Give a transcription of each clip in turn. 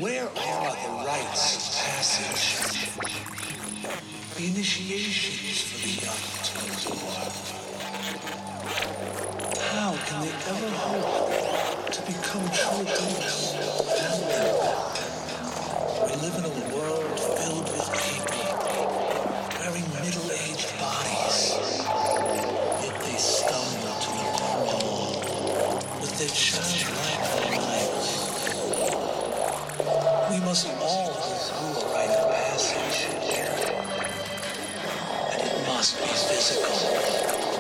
Where are the rites of passage? The initiations for the young to endure? How can they ever hope to become true adults without them? We live in a world filled with people wearing middle-aged bodies, yet they stumble to a crawl with their childlike minds. We must all go through a rite of passage, and it must be physical.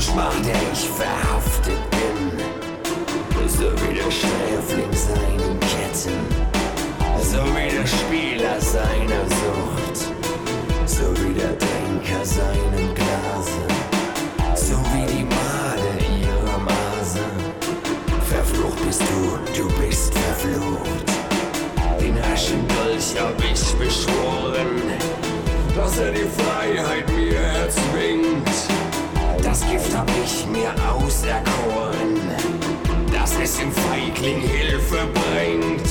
Schmach, der ich verhaftet bin. So wie der Sträfling seinen Ketten, so wie der Spieler seiner Sucht, so wie der Trinker seinem Glase, so wie die Made ihrer Mase. Verflucht bist du bist verflucht. Den Aschendolch hab ich beschworen, dass er die Freiheit mir erzwingt. Das Gift hab ich mir auserkoren, dass es dem Feigling Hilfe bringt.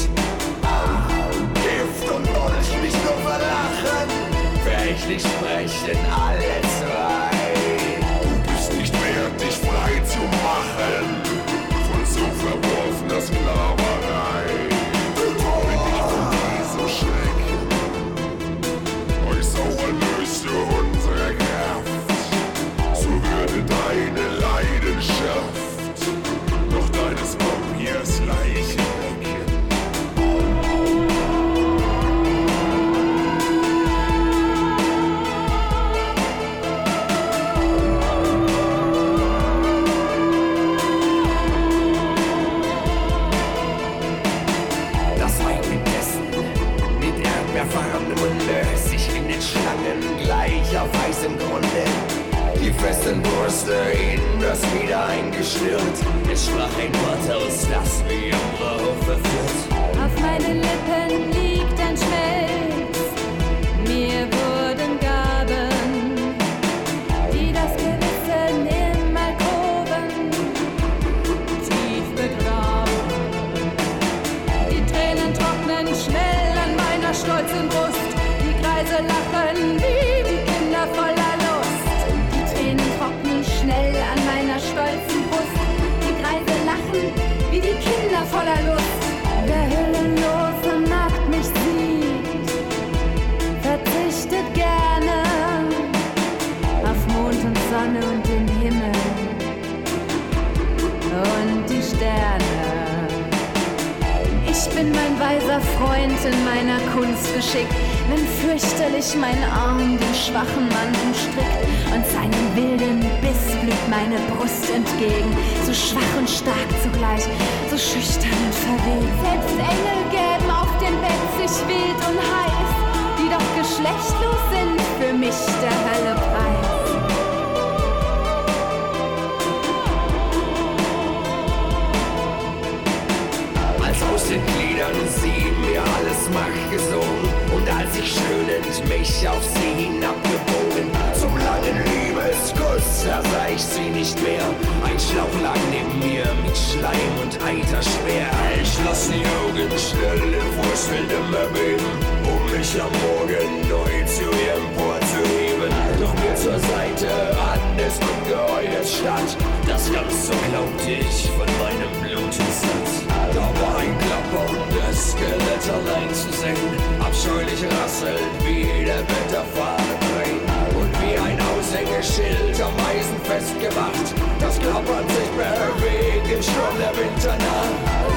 Gift und Dolch mich nur verlachen, verächtlich sprechen alle zwei. Du bist nicht wert, dich frei zu machen von so verworfener Sklaverei. Wenn dich von dieser Schrecken euch sauer löst du unsere Kraft, so würde deine Leidenschaft noch deines Vampirs Leiche wecken. Das Weib mit Essen, mit erdbeerfarbenem Munde, sich in den Schlangen gleich auf weißem Grunde. Die festen Brüste in das wieder eingeschnürt. Es sprach ein Wort aus, das wie im Rauch verführt. Auf meinen Lippen liegt ein Schmelz. Mir wurden Gaben, die das Gewissen im Alkoven tief begraben. Die Tränen trocknen schnell an meiner stolzen Brust. Die Greise lachen wie die Kinder voller Lust. Die Tränen trocknen schnell an meiner stolzen Brust. Die Greise lachen wie die Kinder voller Lust. Der hüllenlose nackt mich sieht, verzichtet gerne auf Mond und Sonne und den Himmel und die Sterne. Ich bin mein weiser Freund in meiner Kunst geschickt, wenn fürchterlich mein Arm den schwachen Mann umstrickt und seinem wilden Biss blüht meine Brust entgegen, so schwach und stark zugleich, so schüchtern und verweht. Selbst Engel gäben auf dem Bett sich wild und heiß, die doch geschlechtlos sind, für mich der Hölle Preis. Aus den Gliedern sie mir alles Macht gesogen, und als ich schönend mich auf sie hinabgebogen, zum langen Liebeskuss sah ich sie nicht mehr. Ein Schlauch lag neben mir mit Schleim und Eiter schwer. Ich schloss die Augen schnell in wurzelndem Erbeben, um mich am Morgen neu zu ihr emporzuheben. Doch mir zur Seite an des Ungeheuers stand, das ganz so glaubte ich von meinem Blute satt. Da war ein klapperndes Skelett allein zu sehen, abscheulich rasselnd wie der Wetterfahne drehen. Und wie ein Aushängeschild am Eisen festgemacht, das klappert sich bewegt im Sturm der Winternacht.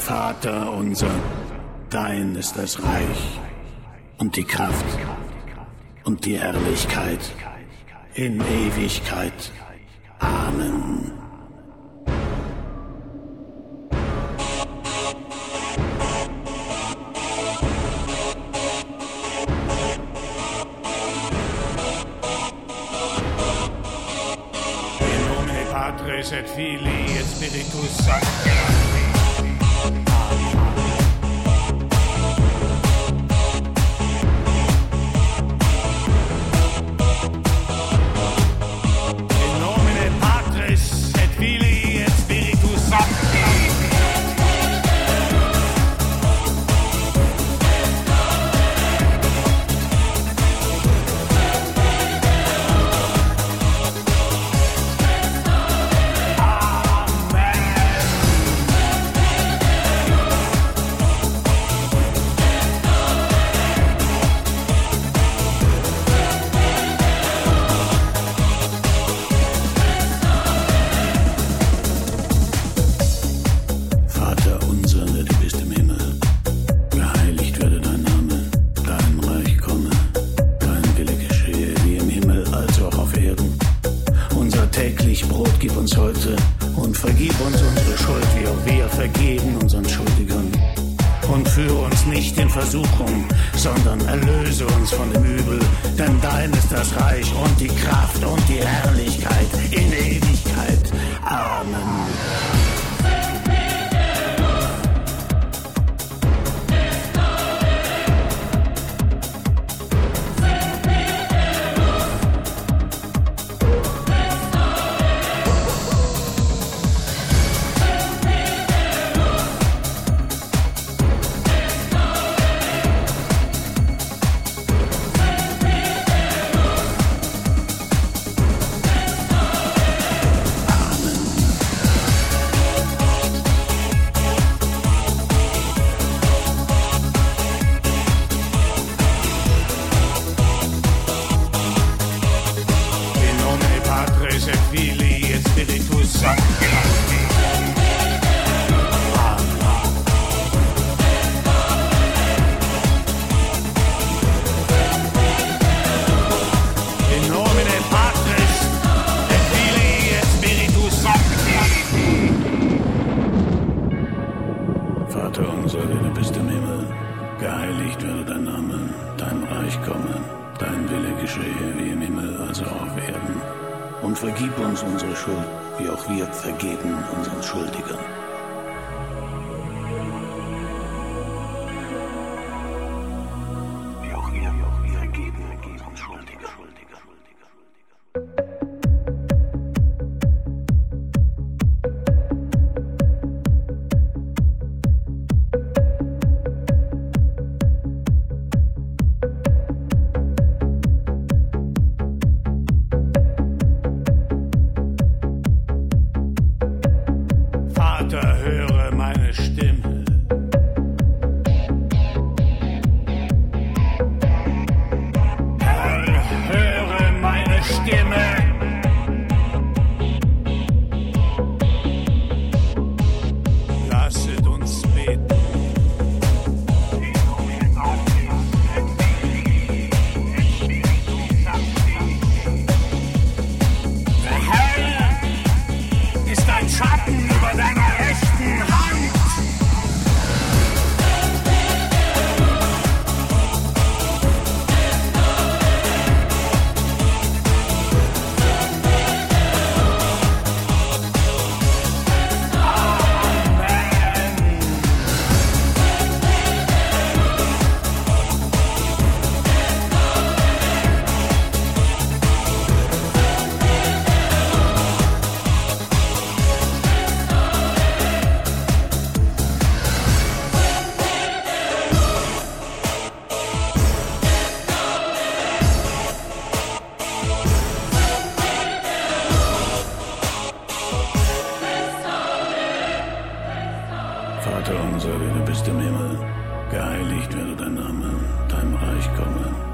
Vater unser, dein ist das Reich und die Kraft und die Herrlichkeit in Ewigkeit. Amen. In nomine Patris et Filii et Spiritus Sancti. Sondern erlöse uns von dem Übel, denn dein ist das Reich und die Kraft und die Herrlichkeit in Ewigkeit. Amen. Vater unser, der du bist im Himmel, geheiligt werde dein Name, dein Reich komme, dein Wille geschehe wie im Himmel, also auf Erden. Und vergib uns unsere Schuld, wie auch wir vergeben unseren Schuldigern. Wie auch wir vergeben unseren Schuldigern. Vater, höre meine Stimme. Herr, höre meine Stimme. Lasset uns beten. Der Herr ist ein Schatten über deiner rechten Hand. Vater unser, der du bist im Himmel, geheiligt werde dein Name, dein Reich komme.